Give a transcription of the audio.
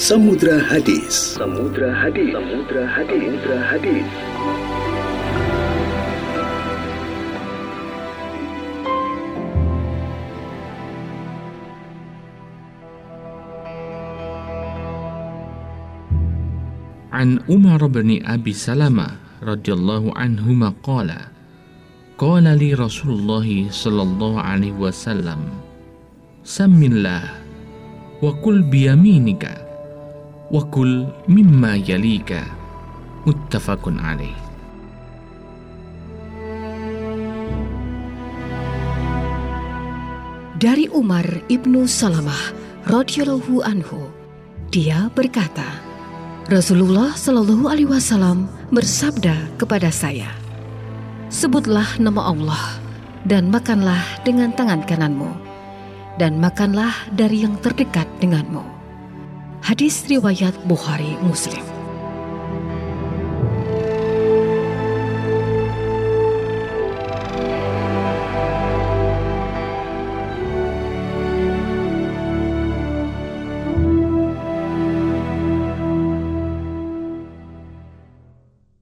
Samudra Hadis. Samudra Hadis. Samudra Hadis. Samudra Hadis. An Umar bin Abi Salamah radhiyallahu anhuma qala li Rasulullah sallallahu alaihi wasallam Sammillah wa kul biyaminika wa kul mimma yalika, muttafaqun alaih. Dari Umar ibnu Salamah radhiyallahu anhu, dia berkata, Rasulullah Shallallahu Alaihi Wasallam bersabda kepada saya, sebutlah nama Allah dan makanlah dengan tangan kananmu, dan makanlah dari yang terdekat denganmu. Hadis riwayat Bukhari Muslim.